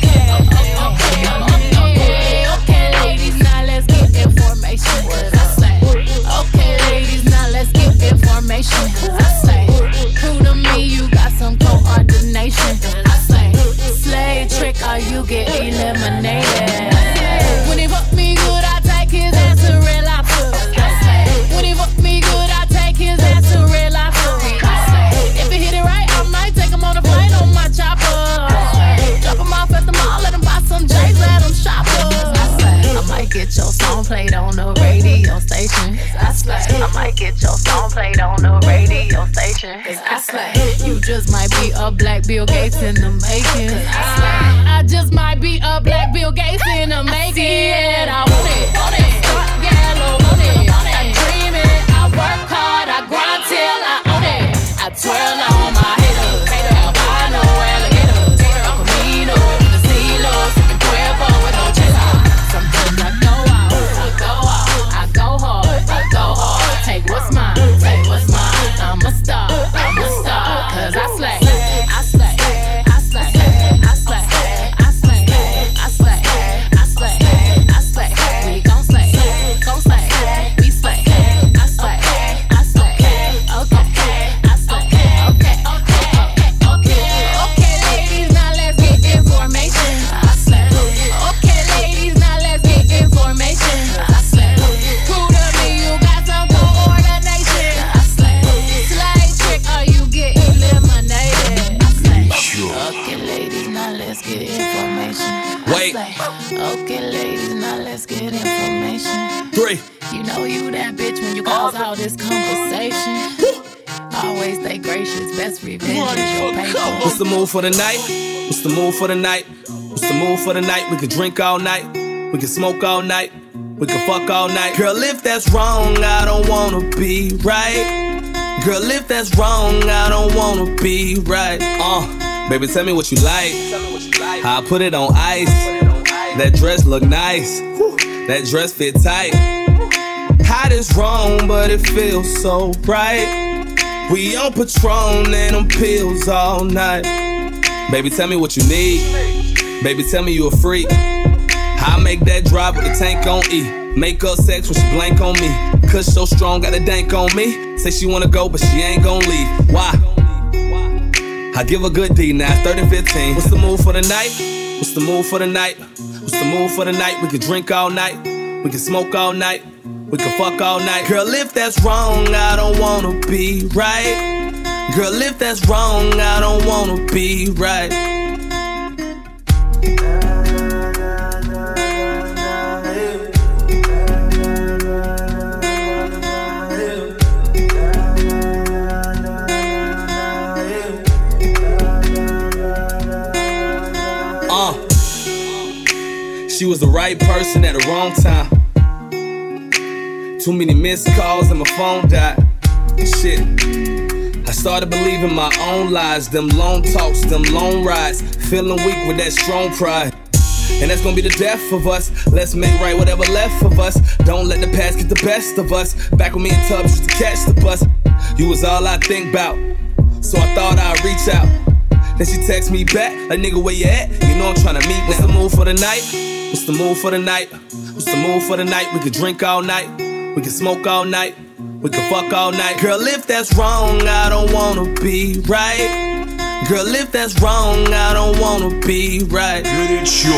okay, okay, ladies, now let's get information, cause I slay, okay, ladies, now let's get information, cause I slay, true to me, you got some coordination, I slay, slay trick or you get eliminated, when he fuck me good, I take his ass to real life. When he fuck me good, I take his ass to real life. If he hit it right, I might take him on a flight on my chopper. Drop him off at the mall, let him buy some J's, let him shop us. I might get your song played on the radio station. I might get your song played on the radio station. I slay. You just might be a black Bill Gates in the making. I just might be a black Bill Gates in the making. And I want it, want it, start yellow, want it. I dream it, I work hard, I grind till I own it. I twirl on my haters, albino, alligators, El Camino, the CeeLo, sipping Cuervo with no chisa. Sometimes I go out, I go out, I go hard, I go hard. Take what's mine, take what's mine. I'm a star, I'm a star, cause I slay, I slay, I slay, I slay, I slay, I slay, I slay, I slay. We gon' slay, gon' slay, we slay, I slay, I slay, okay, I slay, okay, okay, okay, okay, ladies, now let's get information. I slay, okay, ladies, now let's get information. I slay, cool to me, you got some coordination. I slay, slay trick or you get eliminated. I slay, okay, ladies, now let's get information. Wait. Okay, ladies, now let's get information. Three. You know you that bitch when you cause all this conversation. Always stay gracious, best revenge is your paper. What's the move for the night? What's the move for the night? What's the move for the night? We can drink all night. We can smoke all night. We can fuck all night. Girl, if that's wrong, I don't wanna be right. Girl, if that's wrong, I don't wanna be right. Uh, baby, tell me what you like. How I put it on ice. That dress look nice. That dress fit tight. Hot is wrong, but it feels so right. We on Patron and them pills all night. Baby, tell me what you need. Baby, tell me you a freak. I make that drop with the tank on E. Make up sex when she blank on me. Cause so strong, got a dank on me. Say she wanna go, but she ain't gon' leave. Why? I give a good D now, thirty fifteen. What's the move for the night? What's the move for the night? What's the move for the night? We can drink all night. We can smoke all night. We can fuck all night. Girl, if that's wrong, I don't wanna be right. Girl, if that's wrong, I don't wanna be right. She was the right person at the wrong time. Too many missed calls and my phone died. And shit, I started believing my own lies. Them long talks, them long rides. Feeling weak with that strong pride. And that's gonna be the death of us. Let's make right whatever left of us. Don't let the past get the best of us. Back with me in Tubbs just to catch the bus. You was all I think about, so I thought I'd reach out. Then she text me back, like nigga where you at? You know I'm tryna meet. What's the move for the night? What's the move for the night? What's the move for the night? We could drink all night, we could smoke all night, we could fuck all night. Girl, if that's wrong, I don't wanna be right. Girl, if that's wrong, I don't wanna be right. Горячо.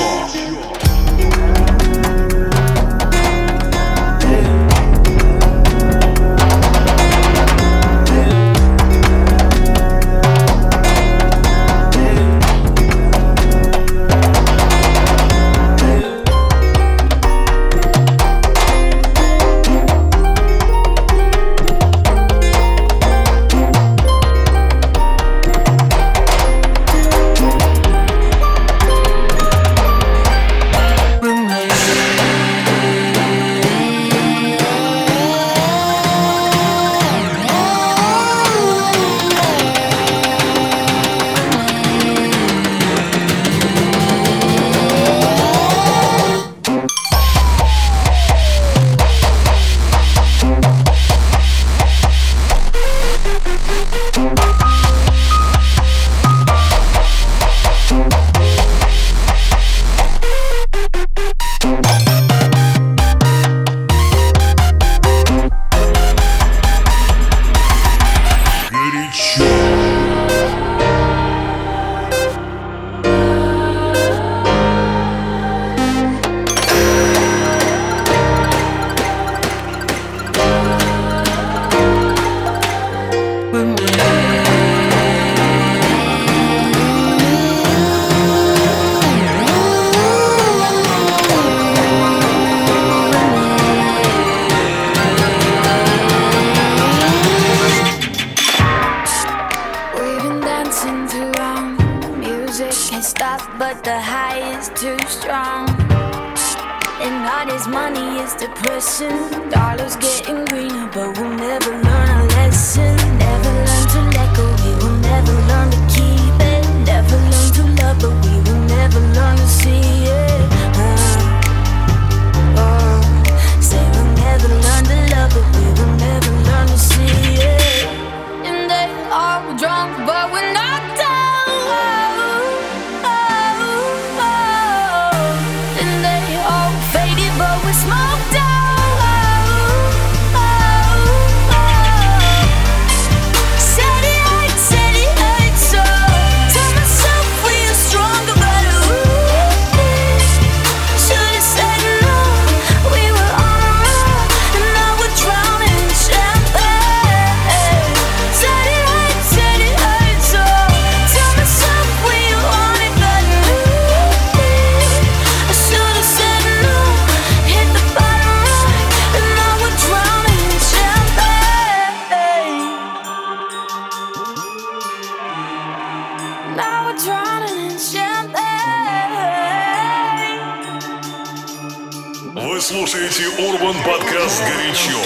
Вы слушаете Urban Podcast «Горячо».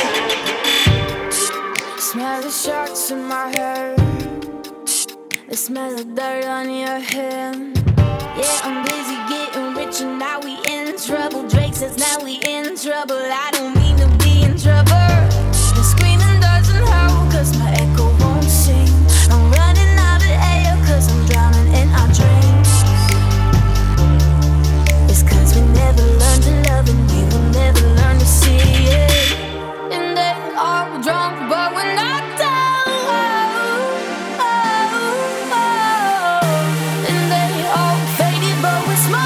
Smell the sharks in my hair. The smell of dirt on your hair. Yeah, I'm busy getting rich and now we in trouble. Drake says now we in trouble. I don't mean to be in trouble. The screaming doesn't help cause my echo won't sing. I'm running out of air cause I'm drowning in our dreams. It's cause we never learned to love and we will never learn to see it. And they are drunk but we're not down. Oh, oh, oh. And they all faded but we're smart.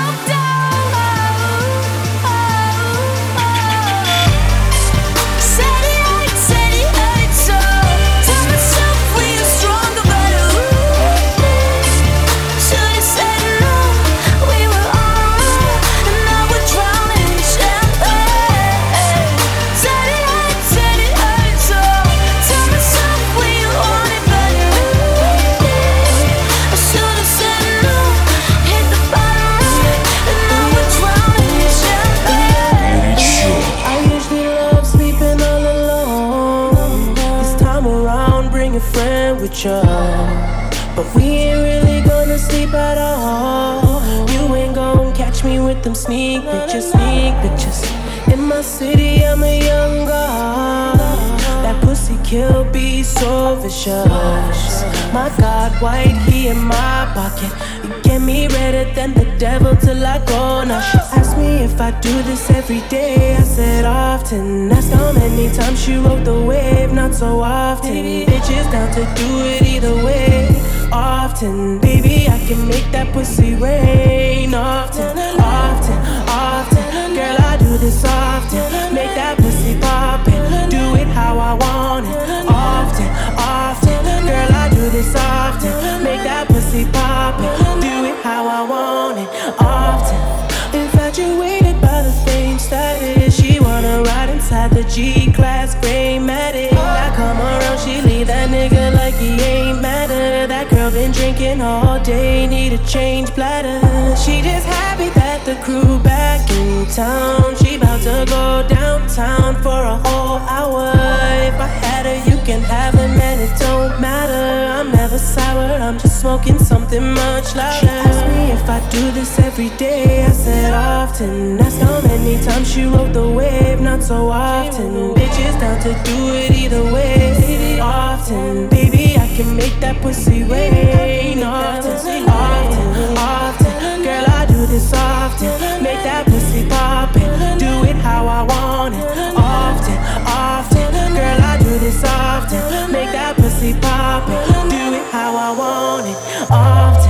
superficial, but we ain't really gonna sleep at all. You ain't gonna catch me with them sneak pictures, sneak pictures. In my city, I'm a young god. That pussy kill be so vicious. My God, white, he in my pocket. You get me redder than the devil till I go. Now she asked me if I do this every day. I said often. Asked how many times she rode the wave. Not so often. Bitches down to do it either way. Often, baby, I can make that pussy rain. Often, often, often. Girl, I do this often. Make that pussy poppin'. Do it how I want it. Often, often. Girl, I do this often. Make that pussy poppin'. Do it how I want it. Often. Infatuated by the fame status. She wanna ride inside the G-Class gray Matic. I come around, she leave that nigga like he ain't matter. That girl been drinking all day, need a change bladder. She just happy that the crew back in town. She bout to go downtown for a whole hour. If I had her, you can have her, man, it don't matter. I'm never sour, I'm just smoking something much louder. She asked me if I do this every day. I said often. Asked how many times she rode the wave. Not so often. Bitches down to do it either way. Often, baby, I can make that pussy rain. Often, often, often. Girl, I do this often. Make that pussy poppin'. Do it how I want it. Often, often. Girl, I do this often. Make that pussy poppin'. Do it how I want it. Often.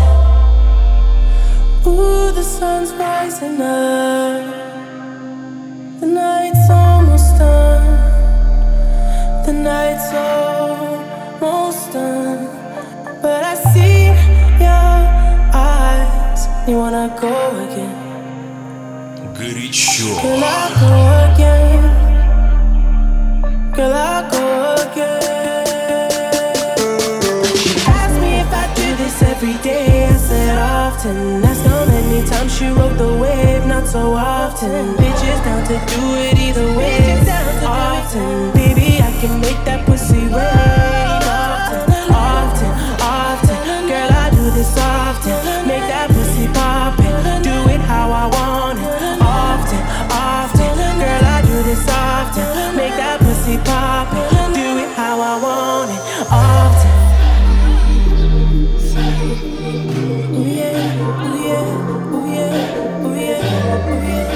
Ooh, the sun's rising up. The night's almost done. The night's almost done. But I see your eyes. You wanna go again? Горячо. Girl, I go again. Girl, I go again. She asked me if I do this every day. I said often. Asked how many times she rode the wave. Not so often. Bitches down to do it either way. Often, baby, I can make that pussy rain. Often, often, often. Girl, I do this often. Make that pussy poppin'. Do it how I want it. Often, often. Girl, I do this often. Make that pussy poppin'. Do it how I want it. Often. Ooh yeah, ooh yeah, ooh yeah, ooh yeah, ooh yeah.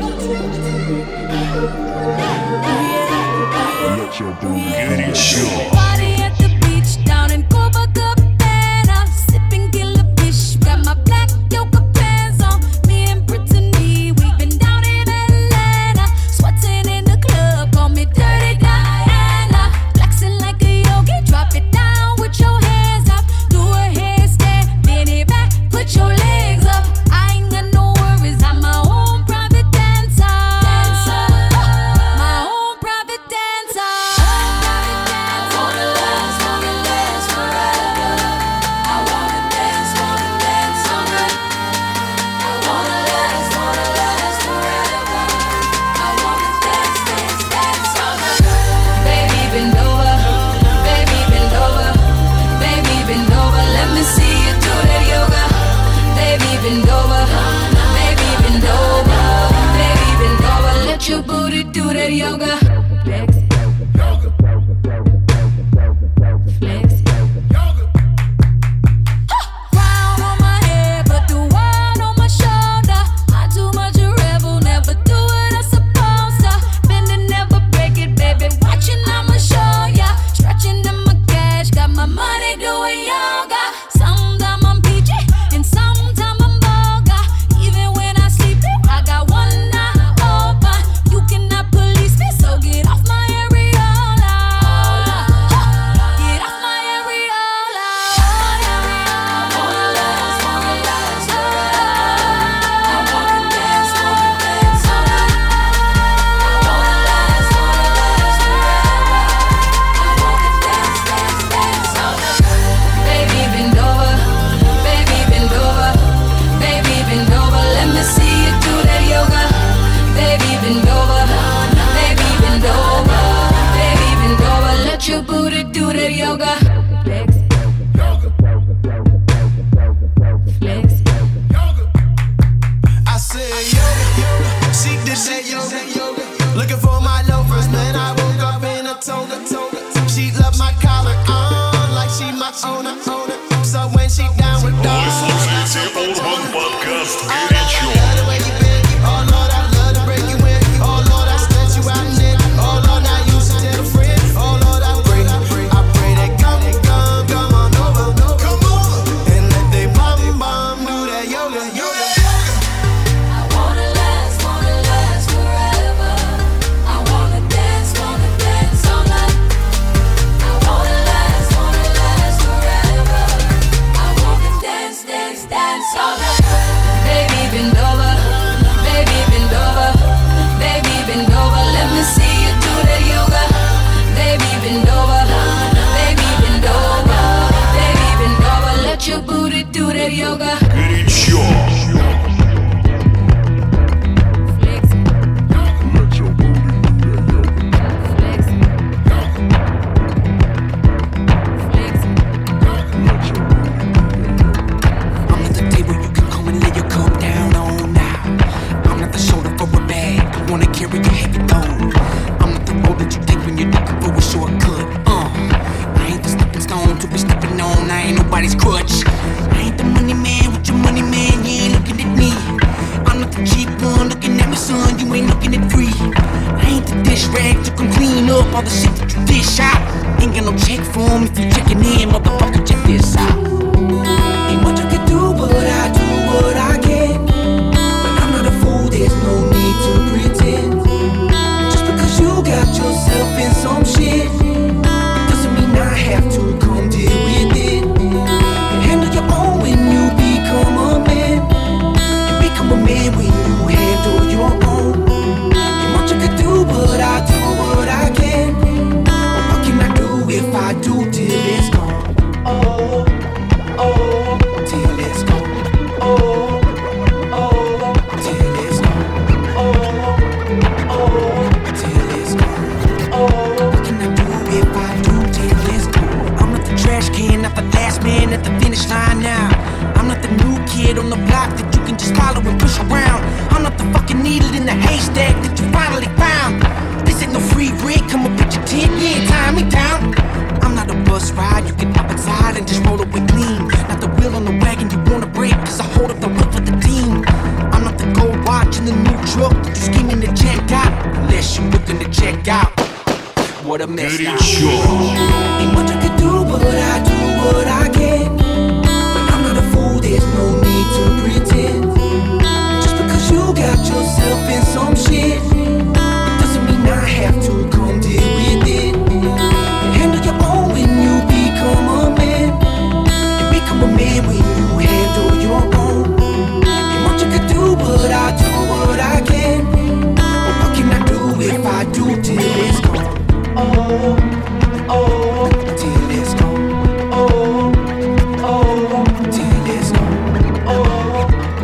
Горячо. Party at the beach down in Copacabana, sipping killer fish, got my black yoga pants on. Me and Brittany, we've been down in Atlanta, sweating in the club, call me Dirty Diana. Flexing like a yogi, drop it down with your hands up, do a handstand, bend it back, put your legs up. I ain't got no worries, I'm my own private dancer. Dancer, my own private dancer. Wanna last, wanna last forever. I wanna dance, wanna dance all night. I wanna last, wanna last forever. I wanna dance, dance, dance all night. Baby, bend over, baby, bend over, baby, bend over. Let me see you do that yoga. Baby, bend over, baby, bend over, baby, bend over. Let your booty do that yoga. Crown on my head, put the world on my shoulder. I too much a rebel, never do what I'm supposed to. Bend and never break it, baby. Watching, I'ma show ya. Stretching in my cash, got my money doing yoga. Sometimes I'm peachy, and sometimes I'm boga. Even when I sleep, I got one eye open. You cannot police me, so get did that yoga. Looking for my loafers, man, I woke up in a toga. She loved my collar on like she my owner. So when she down with dogs, вы слушаете Urban Podcast «Горячо». All the shit that you dish out. Ain't got no check for him if you checking in, motherfucker, check this out. Ain't much I can do, but I do what I can. But I'm not a fool, there's no need to pretend. Just because you got yourself in some shit doesn't mean I have to come deal with it. And handle your own when you become a man. And become a man when you handle your own. Ain't much I can do, but I do what I can. If I do till it's gone, oh, oh, till it's gone, oh, oh, till it's gone, oh, oh, till it's gone, oh. What can I do if I do till it's gone? I'm not the trash can, not the last man at the finish line now. I'm not the new kid on the block that you can just follow and push around. I'm not the fucking needle in the haystack that you finally found. This ain't no free rig, come up with your tent, yeah, tie me down. I'm not a bus ride, you can hop inside and just roll away clean. Not the wheel on the wagon you wanna break, cause I hold up the wheel for the team. I'm not the gold watch in the new truck that you scheming to check out. Unless you're looking to check out. What a mess now. Ain't much I can do, but I do what I can. But I'm not a fool, there's no need to pretend. Just because you got yourself in some shit doesn't mean I have to come deal with it. Handle your own when you become a man. And become a man when you handle your own. Ain't much I can do, but I do what I can. But what can I do if I do till it's gone? Oh, oh, till it's gone. Oh, oh, till it's gone. Oh,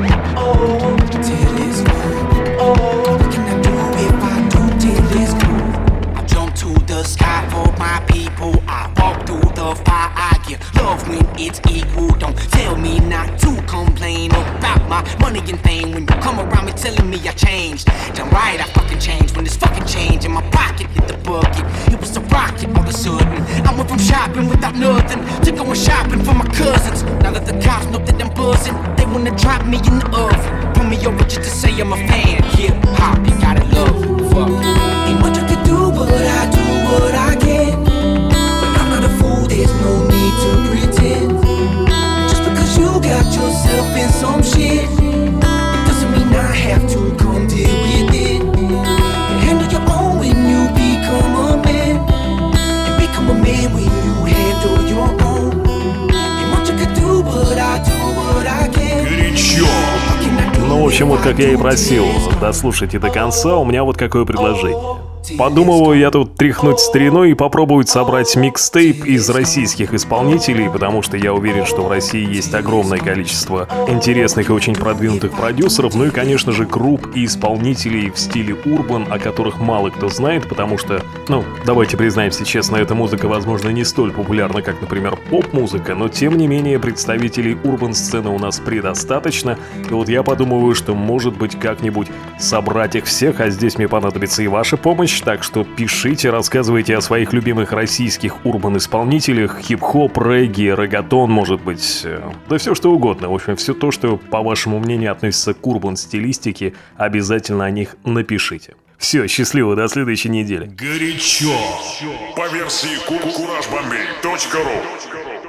oh, till it's gone. Oh, what can I do if I do till it's gone? I jump to the sky for my people. I walk through the fire. I get love when it's equal. Don't tell me not to complain about my money and fame. When you come around me telling me I changed, damn right I fucking changed. When this fucking change in my pocket hit the bucket, it was a rocket all of a sudden. I went from shopping without nothing to going shopping for my cousins. Now that the cops know that I'm buzzing, they wanna drop me in the oven. Pull me over just to say I'm a fan. Hip hop, you gotta love. Fuck. Ain't much I can do, but I do what I can. But I'm not a fool, there's no need to pretend. Just because you got yourself in some shit doesn't mean I have to come deal with it. And handle your own when you become a man. And become a man when you handle your own. Ain't much I can do, but I do what I can. Горячо. Ну, в общем, вот как я и просил, дослушайте до конца, у меня вот какое предложение. Подумываю я тут тряхнуть стариной и попробовать собрать микстейп из российских исполнителей, потому что я уверен, что в России есть огромное количество интересных и очень продвинутых продюсеров, ну и, конечно же, групп и исполнителей в стиле урбан, о которых мало кто знает, потому что, ну, давайте признаемся честно, эта музыка, возможно, не столь популярна, как, например, поп-музыка, но, тем не менее, представителей урбан-сцены у нас предостаточно, и вот я подумываю, что, может быть, как-нибудь собрать их всех, а здесь мне понадобится и ваша помощь. Так что пишите, рассказывайте о своих любимых российских урбан-исполнителях, хип-хоп, регги, реггатон, может быть, да все что угодно. В общем, все то, что, по вашему мнению, относится к урбан-стилистике, обязательно о них напишите. Все, счастливо, до следующей недели. Горячо. По версии кураж бомбей точка ру.